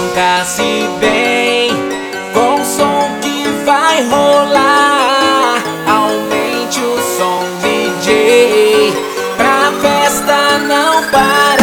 Sinta-se bem com o som que vai rolar. Aumente o som, DJ, pra festa não parar.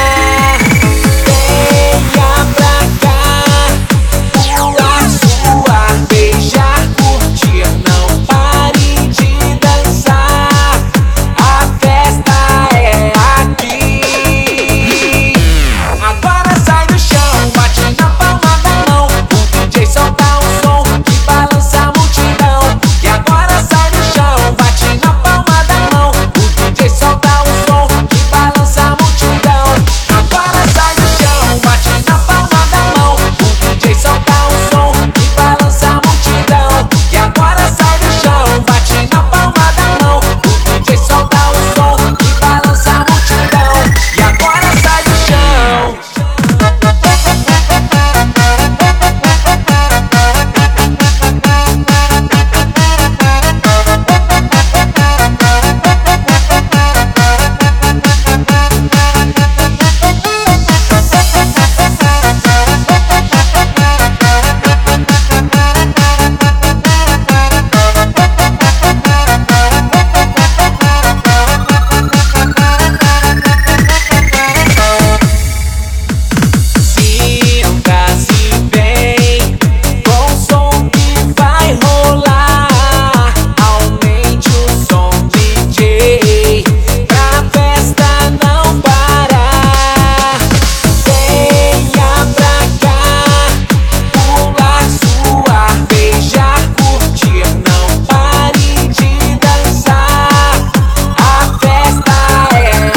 Venha pra cá, pular, suar, beijar, curtir, não pare de dançar. A festa é aqui. Agora sai do chão, bate na palma da mão. O DJ solta um som que balança a multidão. E agora sai do chão, bate na palma da mão. O DJ solta um som que balança a multidão. Agora sai do chão, bate na palma da mão. O DJ solta um som que balança a multidão. E agora sai do chão, bate na palma da mão. O DJ solta um som que balança a multidão. E agora sai do chão. Sinta-se bem com o som que vai rolar. Aumente o som, DJ, pra festa não parar. Venha pra cá, pular, suar, beijar, curtir, não pare de dançar. A festa é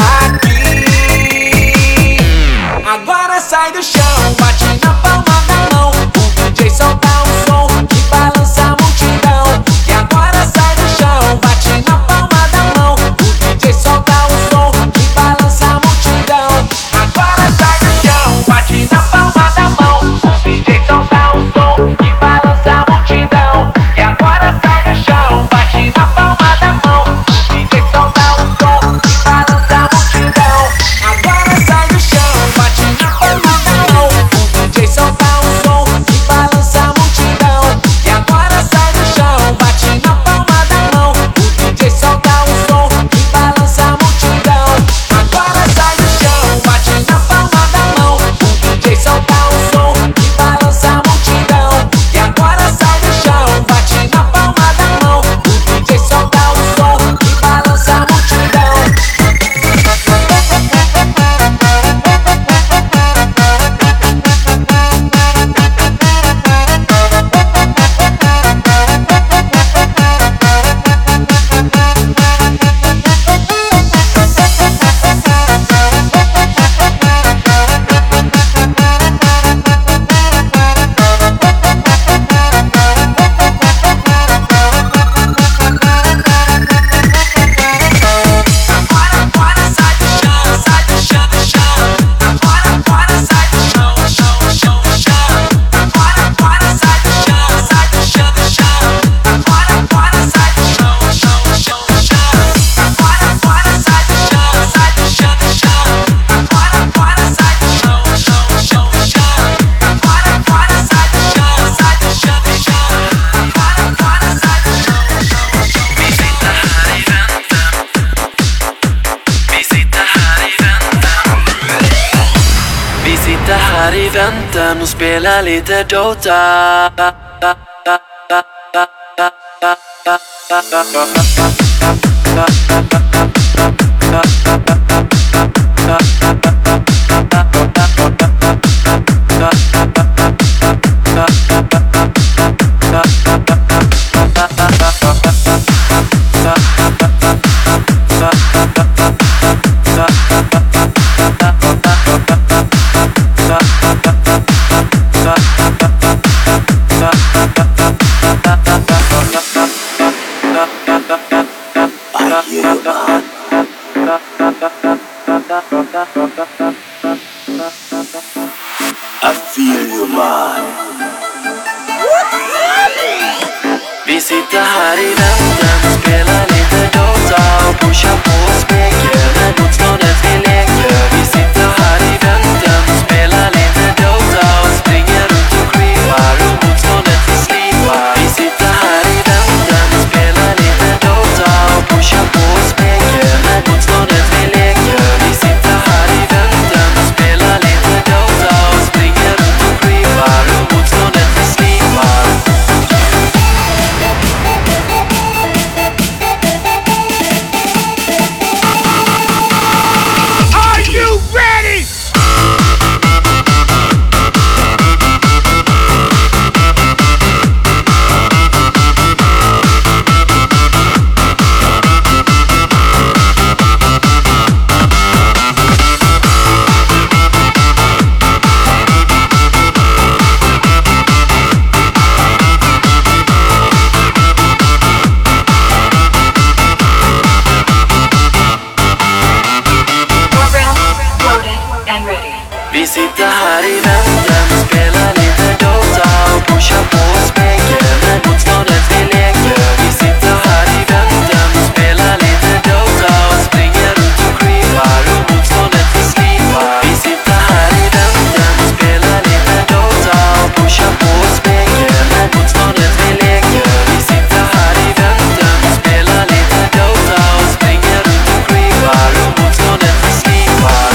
aqui. Agora sai do chão, bate na palma da mão. O DJ solta um som que balança a multidão. E agora sai do chão, bate na palma da mão. O DJ solta um som que balança a multidão. Agora sai do chão, bate na palma da mão. O DJ solta um som que balança a multidão. E agora sai do chão, bate na palma da mão. O DJ solta um som que balança a multidão. Agora sai do chão, bate na palma da mão. O DJ solta um som que balança a multidão. E agora sai do chão, bate na palma da mão. O DJ solta um som que balança a multidão. Agora sai do chão, bate na palma da mão. O DJ solta um som que balança a multidão. E agora sai do chão, bate na palma da mão. O DJ solta um som que balança a multidão. Agora sai do chão, sai do chão, do chão. Agora sai do chão, chão, chão, chão. Agora sai do chão, sai do chão, do chão. Agora sai do chão, chão, chão, chão. Agora sai do chão, sai do chão, do chão. Agora sai do chão, chão, chão, chão. Agora sai do chão, sai do chão, do chão. Agora sai do chão, chão, chão. Vi sitter här i väntan och spelar lite Dota. I feel you, man. Vi sitter här i väntan och spelar lite Dota och pushar på och smeker när motståndet vi leker. Vi sitter här i väntan och spelar lite Dota och springer Vi sitter här i väntan och spelar lite Dota och pushar på och späker med motståndet vi leker. Vi sitter här i väntan och spelar lite Dota och springer runt och creepar och motståndet vi slipar. Vi sitter här i väntan och spelar lite Dota och pushar på och späker med motståndet vi leker. Vi sitter här i väntan och spelar lite Dota och springer runt och creepar och motståndet vi slipar.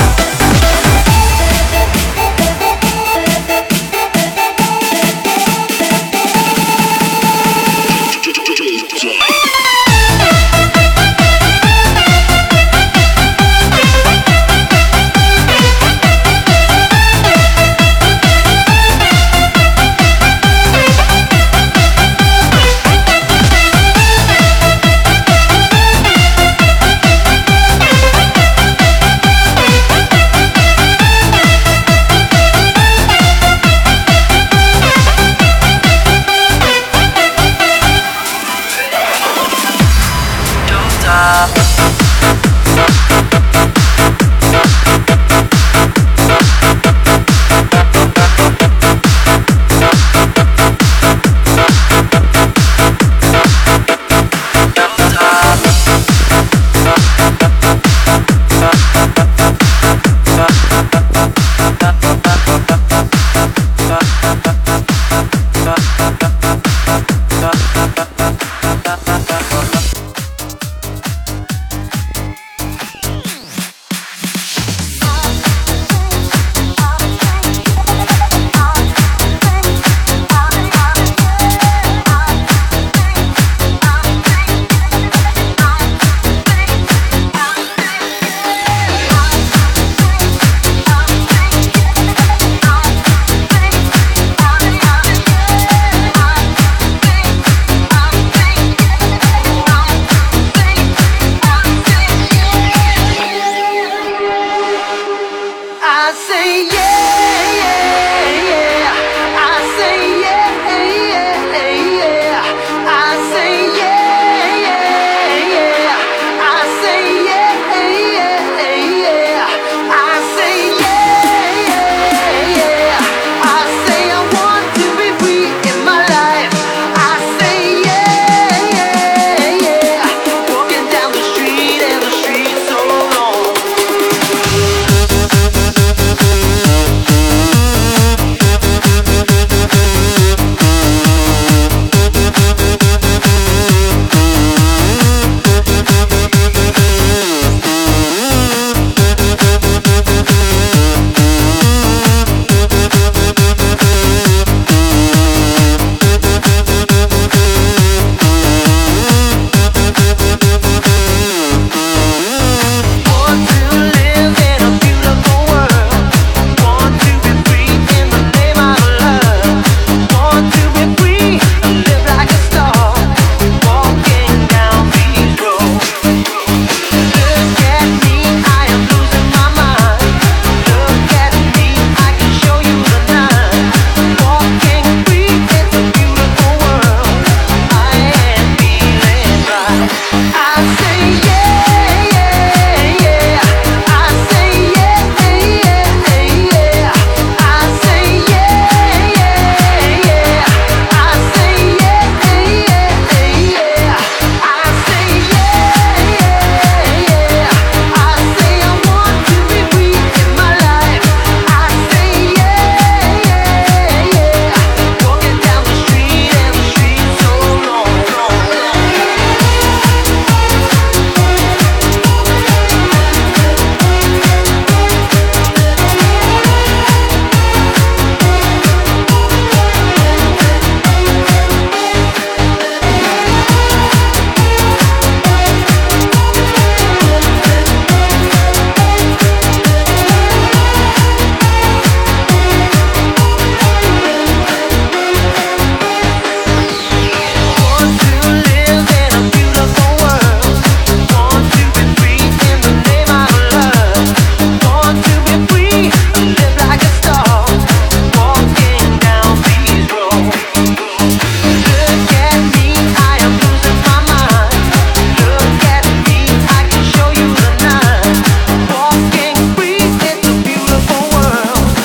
Walking free, it's a beautiful world.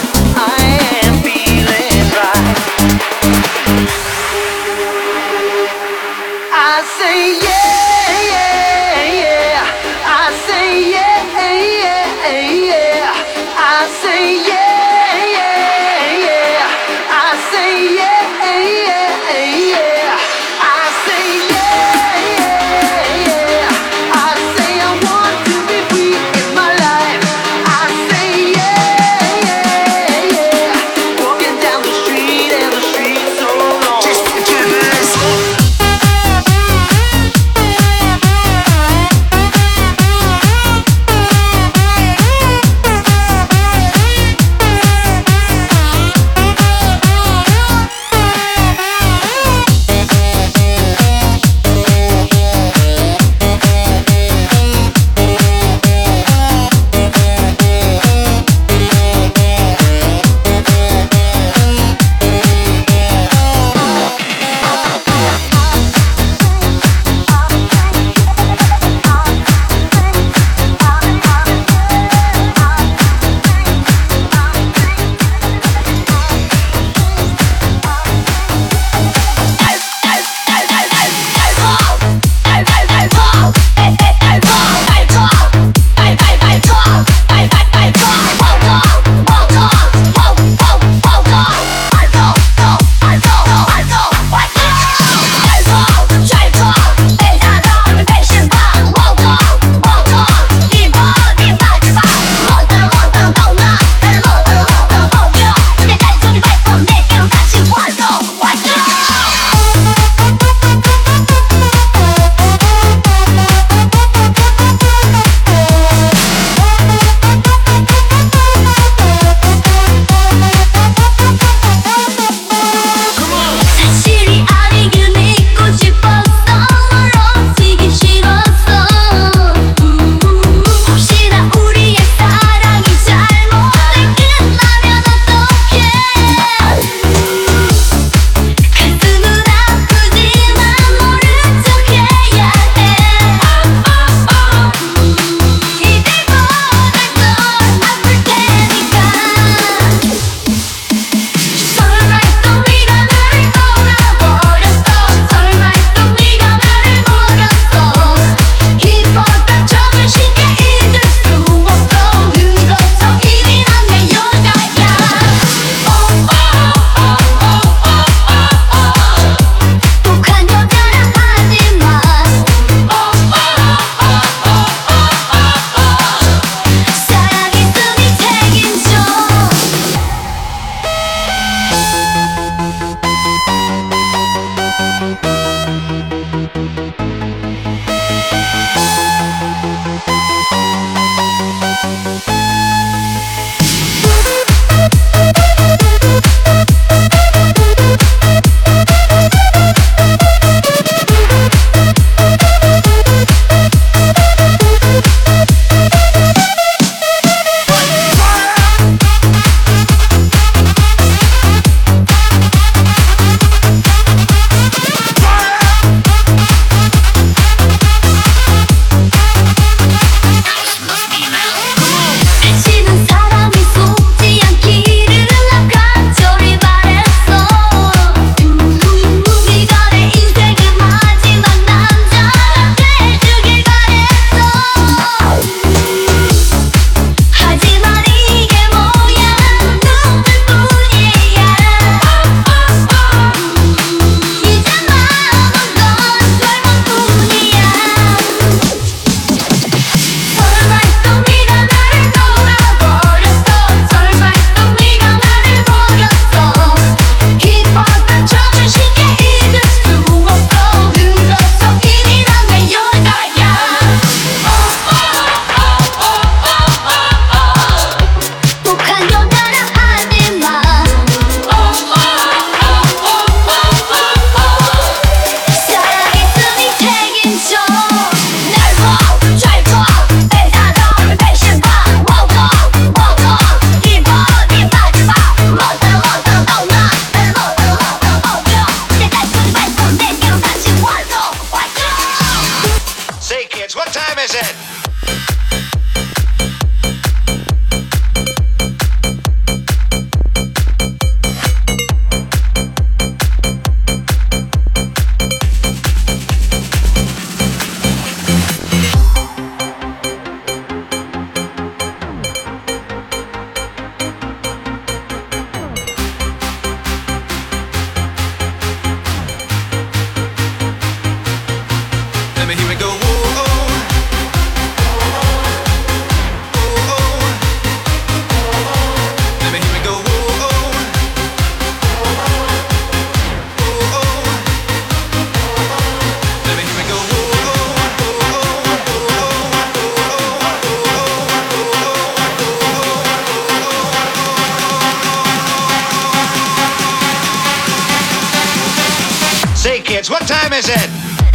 is it?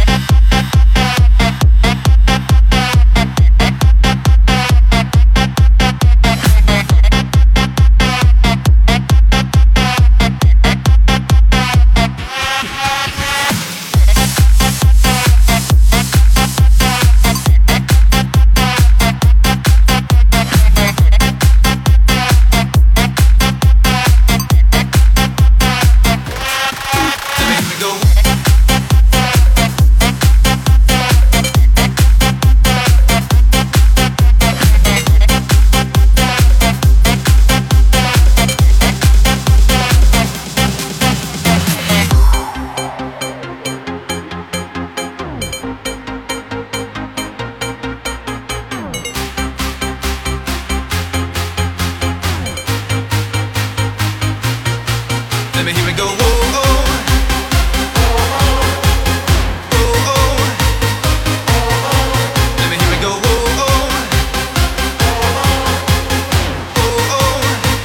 Let me hear it go. Whoa, oh. Whoa, oh. Let me hear it go. Whoa, oh. Whoa, oh.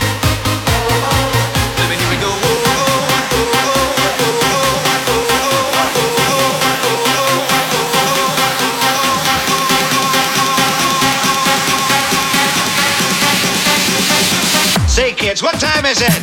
Let me hear it go. Say, kids, what time is it?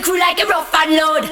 Crew like a rough and load.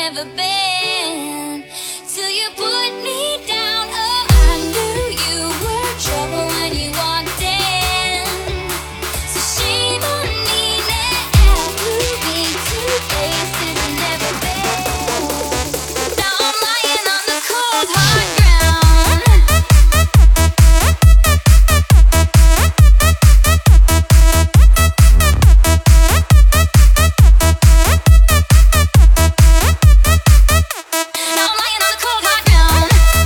never been. Till you put me down. Oh, I knew you were trouble when you walked in. So shame on me now. Moving to places I've never been. Now I'm lying on the cold hard ground. Now I'm lying on the cold hard ground.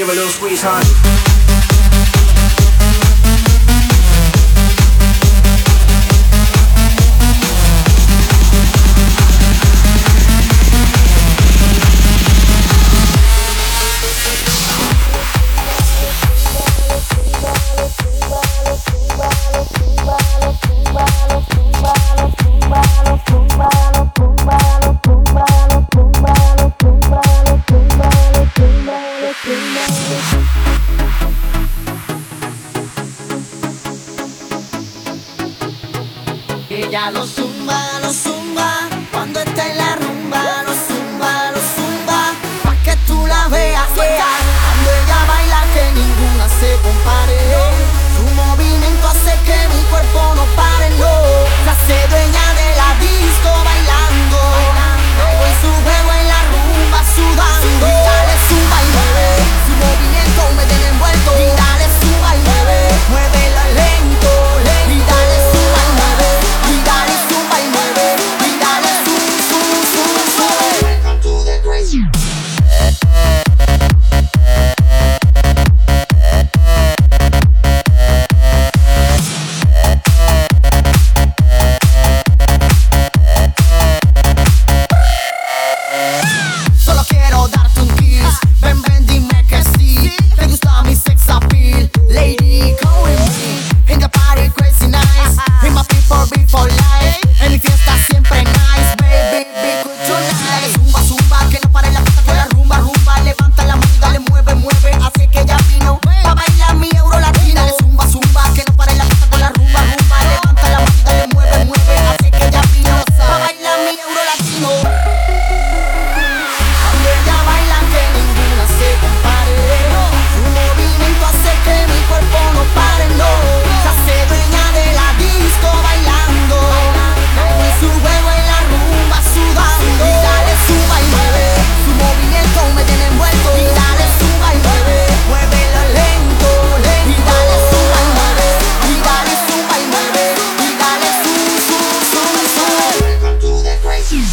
give a little squeeze, huh? Ella lo zumba, cuando está en la rumba, lo zumba, pa' que tú la veas, cuando ella baila que ninguna se compare, su movimiento hace que mi cuerpo no pare, no, se hace dueña de la disco bailando, con su juego en la rumba sudando, y dale zumba y mueve, su movimiento me tiene envuelto, y dale zumba y mueve, muévelo lento, y dale zumba y mueve. Y dale zumba y mueve, y dale Welcome to the crazy. Solo quiero darte un kiss, ven, dime que sí. Te gusta mi sex appeal, lady, come with me. In the party crazy nice, in my people be for life. En mi fiesta siempre nice, baby, be good tonight. Zumba, que no pare la fiesta con la rumba. Levanta la mano y dale, mueve, así que ya vino pa' bailar mi euro latino. Dale zumba, que no pare la fiesta con la rumba. Levanta la mano y dale, mueve, así que ya vino pa' bailar mi euro latino. Cuando ella baila que ninguna se compare, su movimiento hace que mi cuerpo no pare, no, se hace dueña de la disco bailando, con su juego en la rumba sudando, y dale zumba y mueve, su movimiento me tiene envuelto, y dale zumba y mueve, muévelo lento, y dale zumba y mueve, y dale zumba y mueve, y dale Welcome to the crazy.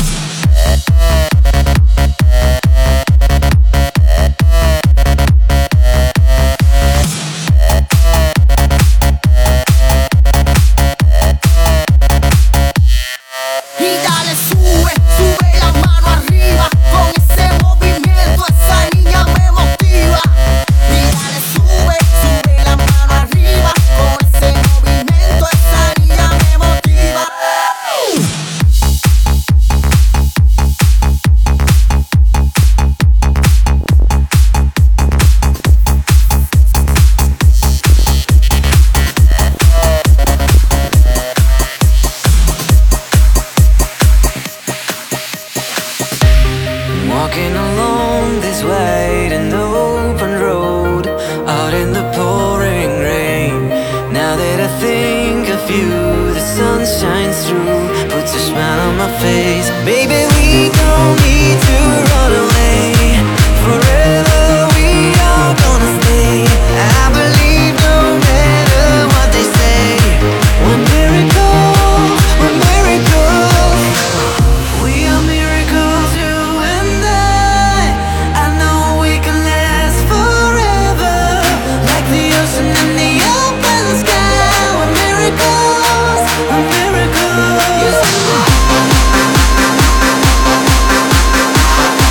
Y dale, sube la mano arriba, con ese movimiento esa niña me motiva. Y dale, sube la mano arriba, con ese movimiento esa niña me motiva. Walking along this wide and open road, out in the pouring rain. Now that I think of you, the sun shines through, puts a smile on my face. Baby, we don't need to run away. Forever we are gonna stay. I believe no matter what they say. We're miracles, we're miracles. We are miracles, you and I know we can last forever, like the ocean and the open sky. We're miracles, we're miracles.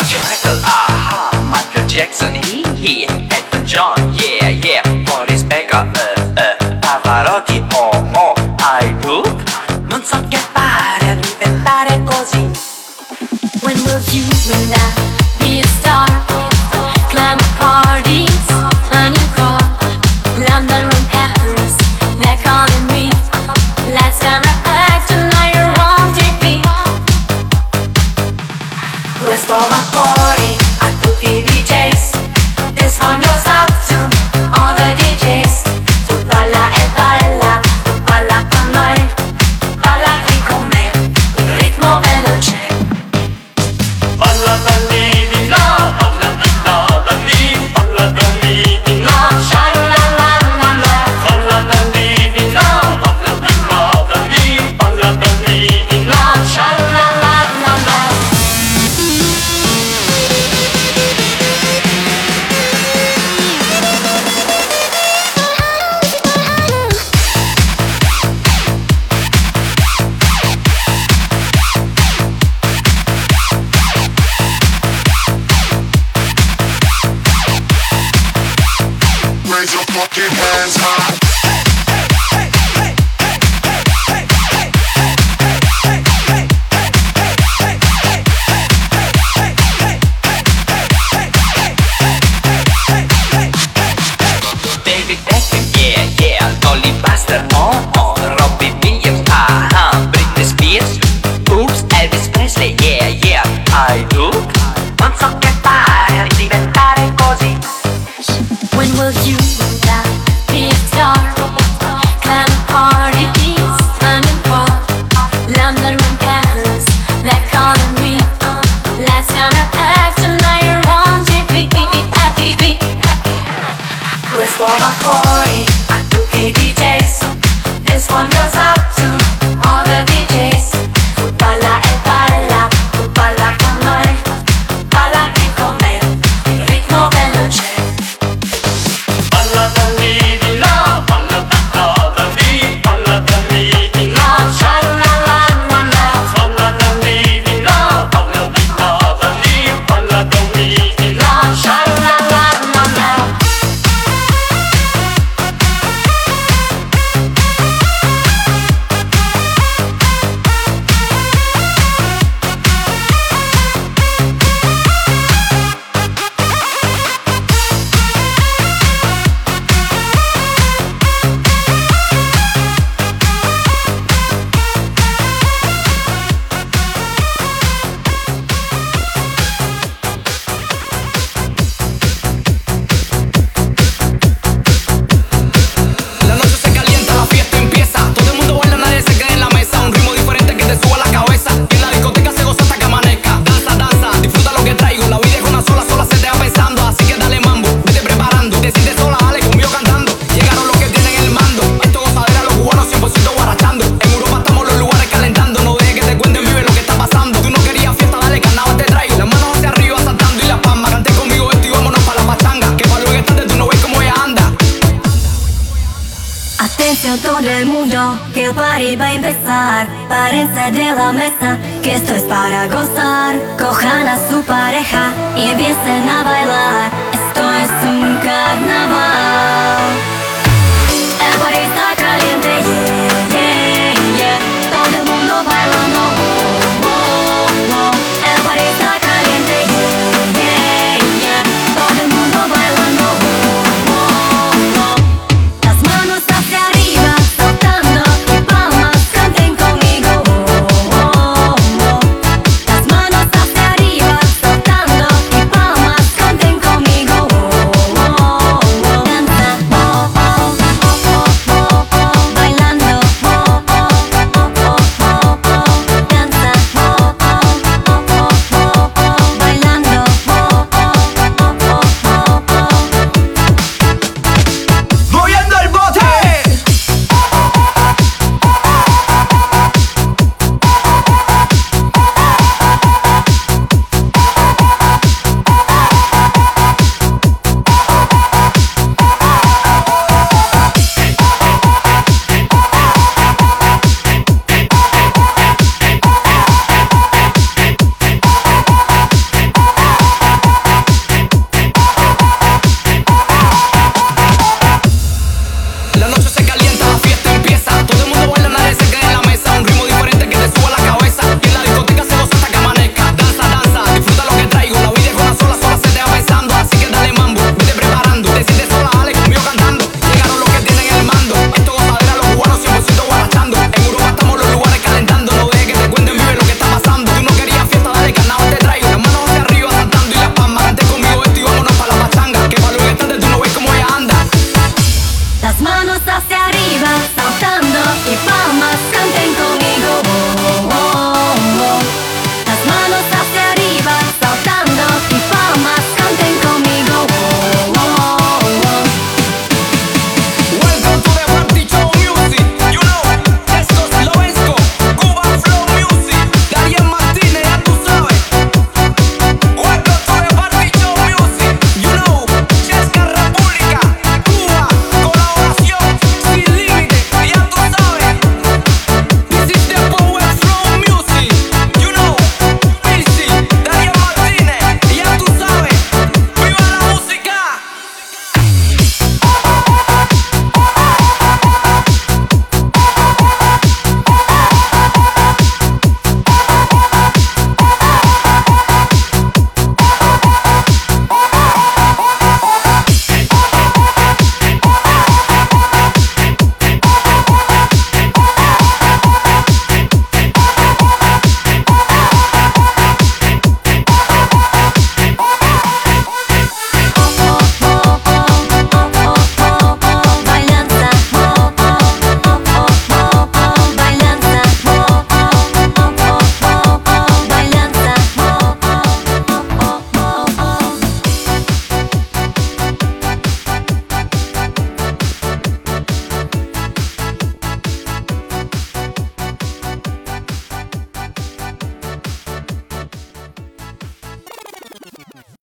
Roger Michael, aha, Michael Jackson, he, Elton John, yeah, yeah, Boris Becker, Pavarotti, oh, I do. Non so che fare a diventare così. When will you and I be a star? Climb parties, a new car, London and Paris, they're calling me. Last time I act, tonight you're on TV. Questo va fuori a tutti i DJs. This one goes out to all the DJs. Tu balla e balla, tu balla con noi, balla qui con me, il ritmo veloce. Balla da lì di là, balla di là da lì, balla da lì di là, Sha-la-la-la-la. balla da lì di là, balla di là da lì, balla da lì di là. Sha-la-la-la-la. Raise your fucking hands high. David Beckham, yeah, yeah, Dolly Buster, oh, Robbie Williams, Britney Spears, oops, Elvis Presley, yeah, yeah, I do. Non so che fare a diventare così. When will you and I be a star? Climb parties, a new car, London and Paris, they're calling me. Last time I act, tonight you're on TV. Questo va fuori a tutti i DJs. This one goes out to all the DJs. Tu balla e balla, tu balla con noi, balla qui con me, il ritmo veloce. Balla da lì di là, balla di là da lì, balla da lì di là, Sha-la-la-la-la. balla da lì di là, balla di là da lì, balla da lì di là. Sha-la-la-la-la. La noche se calienta, la fiesta empieza. Todo el mundo baila, nadie se queda en la mesa. Un ritmo diferente que te suba la cabeza. En la discoteca se goza hasta que amanezca. Danza, danza, disfruta lo que traigo. La vida es una sola, sola se te va pensando. Así que dale mambo, vete preparando. Te sientes sola, dale conmigo cantando. Llegaron los que tienen el mando. Esto gozadera, los cubanos 100% guarachando. En Europa estamos los lugares calentando. No dejes que te cuenten, vive lo que está pasando. Tú no querías fiesta, dale carnaval te traigo. Las manos hacia arriba saltando y la palma. Cante conmigo esto y vámonos para la pachanga. Que para luego estarte tú no ves cómo ella anda. Atención todo el mundo, que el party va a empezar. Párense de la mesa, que esto es para gozar. Cojan a su pareja y empiecen a bailar. Esto es un carnaval.